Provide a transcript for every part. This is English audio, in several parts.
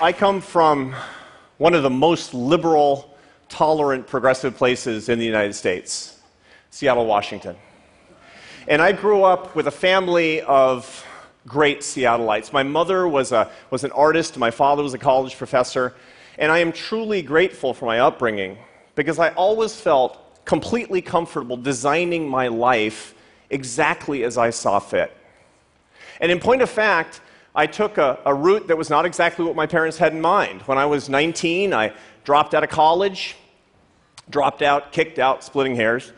I come from one of the most liberal, tolerant, progressive places in the United States, Seattle, Washington. And I grew up with a family of great Seattleites. My mother was an artist, my father was a college professor, and I am truly grateful for my upbringing because I always felt completely comfortable designing my life exactly as I saw fit. And in point of fact, I took a route that was not exactly what my parents had in mind. When I was 19, I dropped out of college, kicked out, splitting hairs.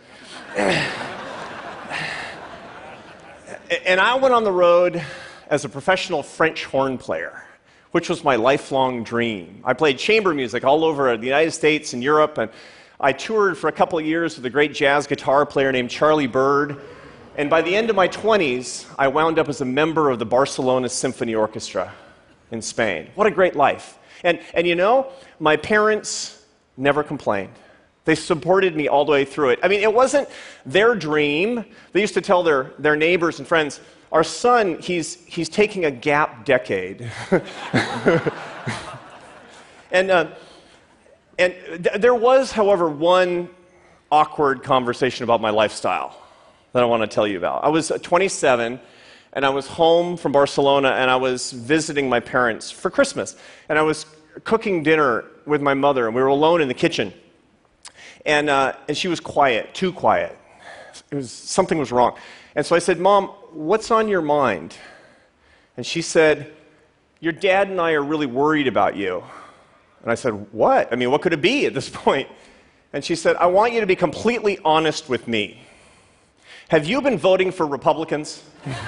And I went on the road as a professional French horn player, which was my lifelong dream. I played chamber music all over the United States and Europe, and I toured for a couple of years with a great jazz guitar player named Charlie Byrd. And by the end of my 20s, I wound up as a member of the Barcelona Symphony Orchestra in Spain. What a great life. And you know, my parents never complained. They supported me all the way through it. I mean, it wasn't their dream. They used to tell their neighbors and friends, our son, he's taking a gap decade. And there was, however, one awkward conversation about my lifestyle that I want to tell you about. I was 27, and I was home from Barcelona, and I was visiting my parents for Christmas. And I was cooking dinner with my mother, and we were alone in the kitchen. And she was quiet, too quiet. Something was wrong. And so I said, Mom, what's on your mind? And she said, your dad and I are really worried about you. And I said, what? I mean, what could it be at this point? And she said, I want you to be completely honest with me. Have you been voting for Republicans?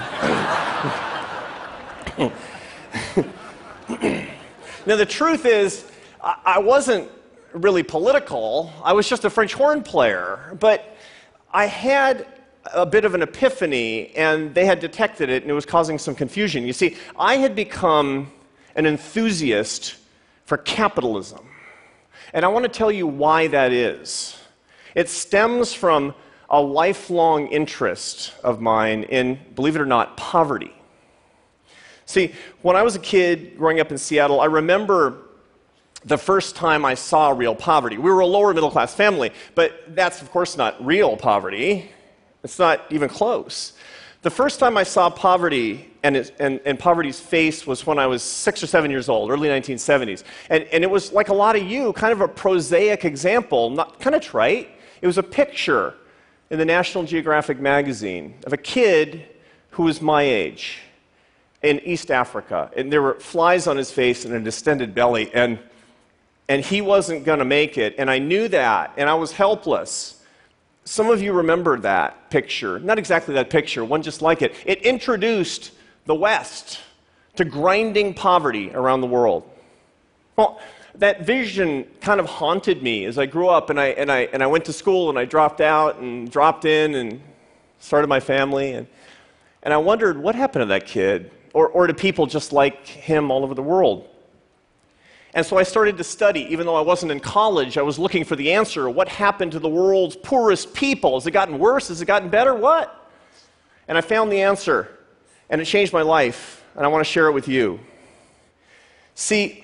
Now, the truth is, I wasn't really political. I was just a French horn player. But I had a bit of an epiphany, and they had detected it, and it was causing some confusion. You see, I had become an enthusiast for capitalism. And I want to tell you why that is. It stems from a lifelong interest of mine in, believe it or not, poverty. See, when I was a kid growing up in Seattle, I remember the first time I saw real poverty. We were a lower middle class family, but that's of course not real poverty. It's not even close. The first time I saw poverty and poverty's face was when I was 6 or 7 years old, early 1970s. And it was like a lot of you, kind of a prosaic example, not kind of trite. It was a picture in the National Geographic magazine of a kid who was my age in East Africa. And there were flies on his face and a distended belly, and he wasn't going to make it. And I knew that, and I was helpless. Some of you remember that picture. Not exactly that picture, one just like it. It introduced the West to grinding poverty around the world. Well, that vision kind of haunted me as I grew up, and I went to school, and I dropped out and dropped in and started my family, and I wondered what happened to that kid, or to people just like him all over the world. And so I started to study. Even though I wasn't in college, I was looking for the answer. What happened to the world's poorest people? Has it gotten worse? Has it gotten better? What? And I found the answer, and it changed my life, and I want to share it with you. See,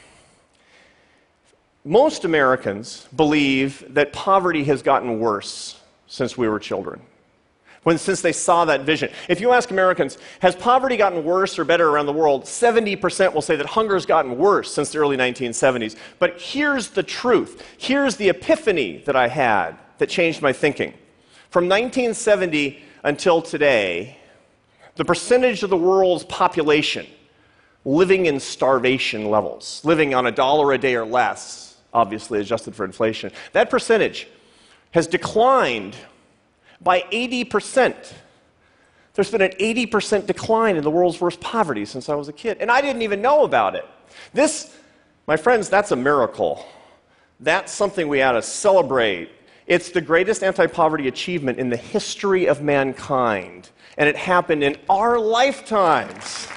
most Americans believe that poverty has gotten worse since we were children, since they saw that vision. If you ask Americans, has poverty gotten worse or better around the world, 70% will say that hunger has gotten worse since the early 1970s. But here's the truth. Here's the epiphany that I had that changed my thinking. From 1970 until today, the percentage of the world's population living in starvation levels, living on $1 a day or less, obviously adjusted for inflation, that percentage has declined by 80%. There's been an 80% decline in the world's worst poverty since I was a kid, and I didn't even know about it. This, my friends, that's a miracle. That's something we ought to celebrate. It's the greatest anti-poverty achievement in the history of mankind, and it happened in our lifetimes.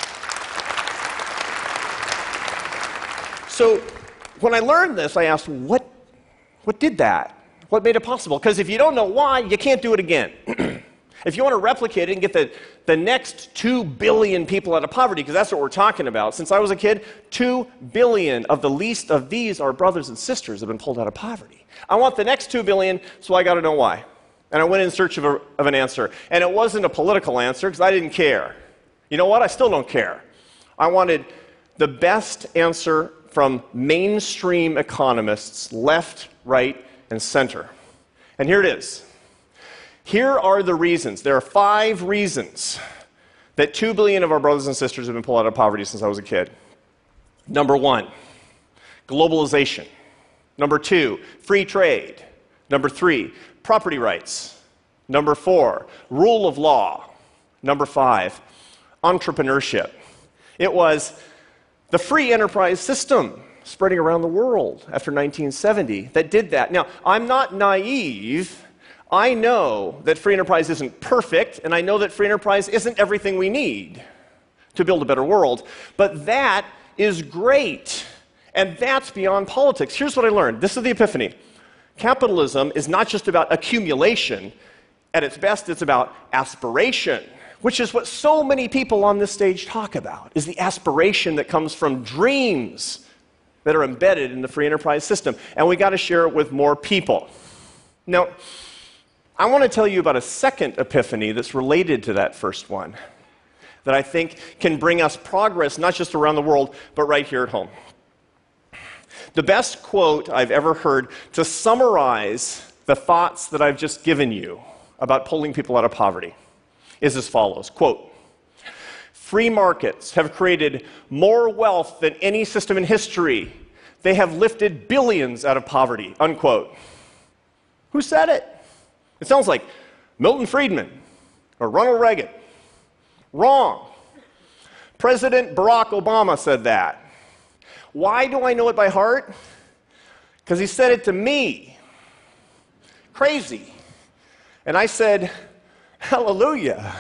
So when I learned this, I asked, what did that? What made it possible? Because if you don't know why, you can't do it again. If you want to replicate it and get the next 2 billion people out of poverty, because that's what we're talking about. Since I was a kid, 2 billion of the least of these, our brothers and sisters, have been pulled out of poverty. I want the next 2 billion, so I got to know why. And I went in search of an answer. And it wasn't a political answer, because I didn't care. You know what? I still don't care. I wanted the best answer from mainstream economists, left, right, and center. And here it is. Here are the reasons. There are 5 reasons that 2 billion of our brothers and sisters have been pulled out of poverty since I was a kid. Number 1, globalization. Number 2, free trade. Number 3, property rights. Number 4, rule of law. Number 5, entrepreneurship. It was the free enterprise system spreading around the world after 1970 that did that. Now, I'm not naive. I know that free enterprise isn't perfect, and I know that free enterprise isn't everything we need to build a better world, but that is great, and that's beyond politics. Here's what I learned. This is the epiphany. Capitalism is not just about accumulation. At its best, it's about aspiration, which is what so many people on this stage talk about, is the aspiration that comes from dreams that are embedded in the free enterprise system, and we got to share it with more people. Now, I want to tell you about a second epiphany that's related to that first one that I think can bring us progress not just around the world, but right here at home. The best quote I've ever heard to summarize the thoughts that I've just given you about pulling people out of poverty is as follows, quote, "Free markets have created more wealth than any system in history. They have lifted billions out of poverty," unquote. Who said it? It sounds like Milton Friedman or Ronald Reagan. Wrong. President Barack Obama said that. Why do I know it by heart? Because he said it to me. Crazy. And I said, hallelujah.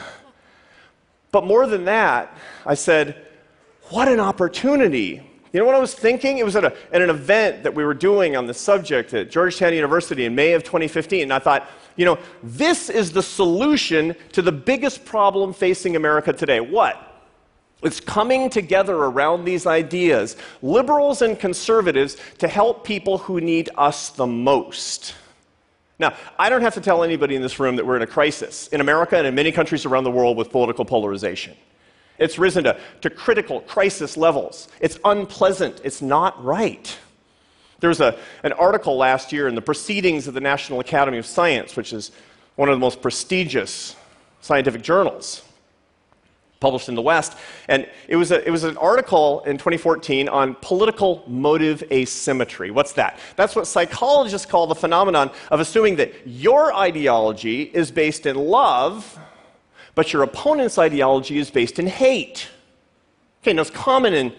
But more than that, I said, what an opportunity. You know what I was thinking? It was at an event that we were doing on the subject at Georgetown University in May of 2015, and I thought, you know, this is the solution to the biggest problem facing America today. What? It's coming together around these ideas, liberals and conservatives, to help people who need us the most. Now, I don't have to tell anybody in this room that we're in a crisis in America and in many countries around the world with political polarization. It's risen to critical crisis levels. It's unpleasant. It's not right. There was an article last year in the Proceedings of the National Academy of Science, which is one of the most prestigious scientific journals published in the West, and it was an article in 2014 on political motive asymmetry. What's that? That's what psychologists call the phenomenon of assuming that your ideology is based in love, but your opponent's ideology is based in hate. Okay, now it's common in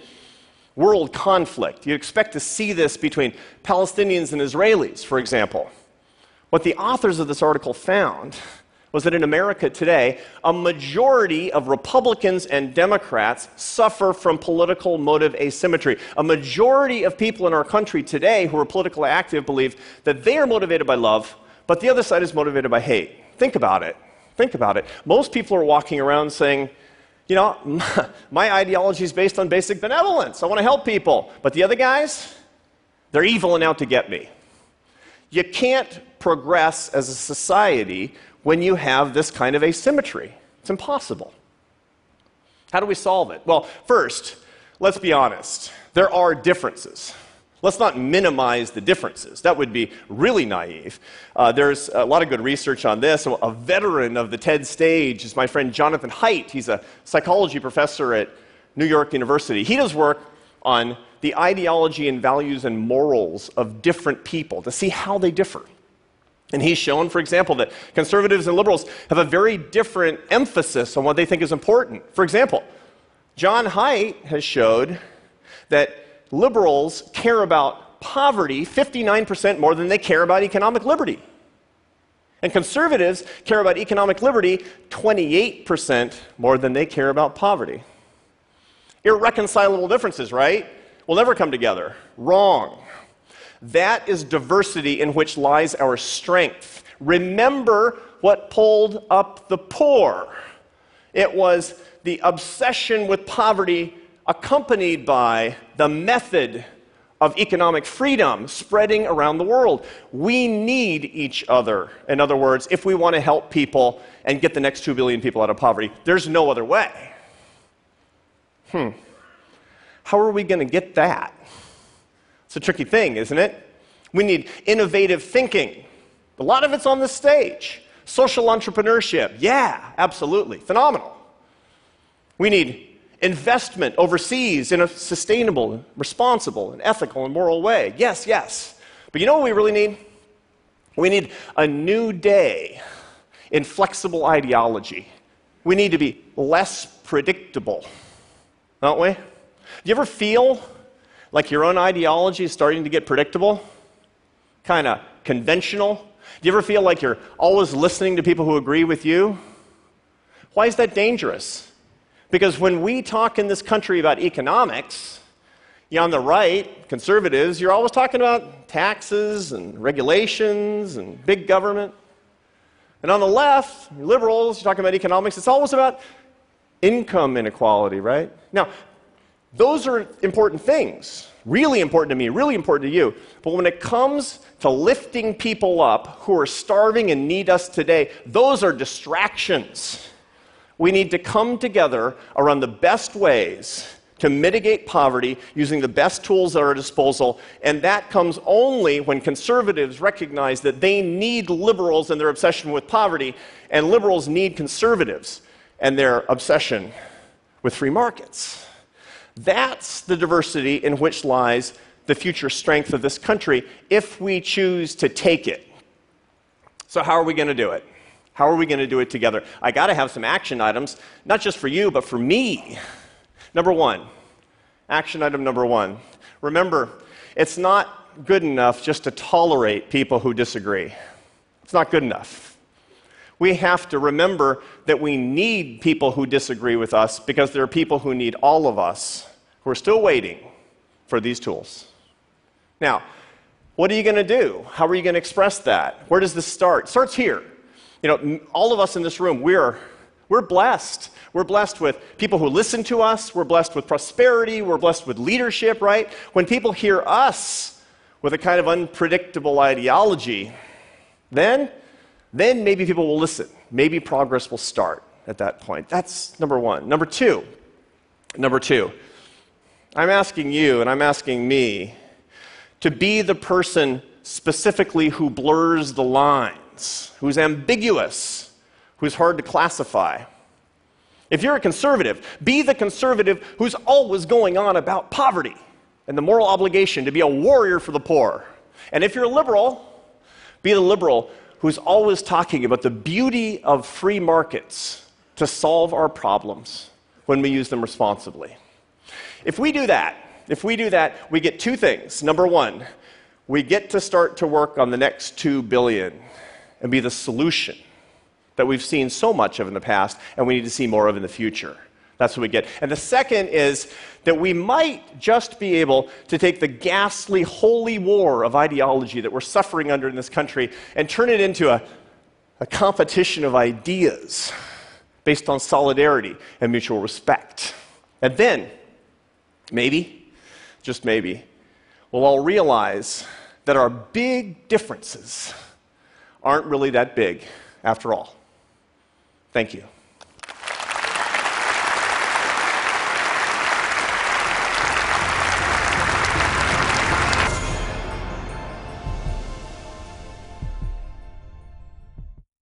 world conflict. You expect to see this between Palestinians and Israelis, for example. What the authors of this article found was that in America today, a majority of Republicans and Democrats suffer from political motive asymmetry. A majority of people in our country today who are politically active believe that they are motivated by love, but the other side is motivated by hate. Think about it. Think about it. Most people are walking around saying, you know, my ideology is based on basic benevolence. I want to help people. But the other guys, they're evil and out to get me. You can't progress as a society when you have this kind of asymmetry. It's impossible. How do we solve it? Well, first, let's be honest. There are differences. Let's not minimize the differences. That would be really naive. There's a lot of good research on this. A veteran of the TED stage is my friend Jonathan Haidt. He's a psychology professor at New York University. He does work on the ideology and values and morals of different people to see how they differ. And he's shown, for example, that conservatives and liberals have a very different emphasis on what they think is important. For example, John Haidt has showed that liberals care about poverty 59% more than they care about economic liberty. And conservatives care about economic liberty 28% more than they care about poverty. Irreconcilable differences, right? Will never come together. Wrong. That is diversity in which lies our strength. Remember what pulled up the poor. It was the obsession with poverty accompanied by the method of economic freedom spreading around the world. We need each other. In other words, if we want to help people and get the next 2 billion people out of poverty, there's no other way. How are we going to get that? It's a tricky thing, isn't it? We need innovative thinking. A lot of it's on the stage. Social entrepreneurship. Yeah, absolutely. Phenomenal. We need investment overseas in a sustainable, responsible, and ethical and moral way. Yes, yes. But you know what we really need? We need a new day in flexible ideology. We need to be less predictable, don't we? Do you ever feel like your own ideology is starting to get predictable? Kind of conventional? Do you ever feel like you're always listening to people who agree with you? Why is that dangerous? Because when we talk in this country about economics, you're on the right, conservatives, you're always talking about taxes and regulations and big government. And on the left, liberals, you're talking about economics, it's always about income inequality, right? Now, those are important things, really important to me, really important to you. But when it comes to lifting people up who are starving and need us today, those are distractions. We need to come together around the best ways to mitigate poverty using the best tools at our disposal, and that comes only when conservatives recognize that they need liberals and their obsession with poverty, and liberals need conservatives and their obsession with free markets. That's the diversity in which lies the future strength of this country if we choose to take it. So how are we going to do it? How are we going to do it together? I got to have some action items, not just for you, but for me. Number one, action item number one. Remember, it's not good enough just to tolerate people who disagree. It's not good enough. We have to remember that we need people who disagree with us because there are people who need all of us who are still waiting for these tools. Now, what are you going to do? How are you going to express that? Where does this start? It starts here. You know, all of us in this room, we're blessed. We're blessed with people who listen to us. We're blessed with prosperity. We're blessed with leadership, right? When people hear us with a kind of unpredictable ideology, then maybe people will listen. Maybe progress will start at that point. That's number one. Number two, I'm asking you and I'm asking me to be the person specifically who blurs the lines, who's ambiguous, who's hard to classify. If you're a conservative, be the conservative who's always going on about poverty and the moral obligation to be a warrior for the poor. And if you're a liberal, be the liberal who's always talking about the beauty of free markets to solve our problems when we use them responsibly. If we do that, we get two things. Number one, we get to start to work on the next 2 billion and be the solution that we've seen so much of in the past, and we need to see more of in the future. That's what we get. And the second is that we might just be able to take the ghastly holy war of ideology that we're suffering under in this country and turn it into a competition of ideas based on solidarity and mutual respect. And then, maybe, just maybe, we'll all realize that our big differences aren't really that big after all. Thank you.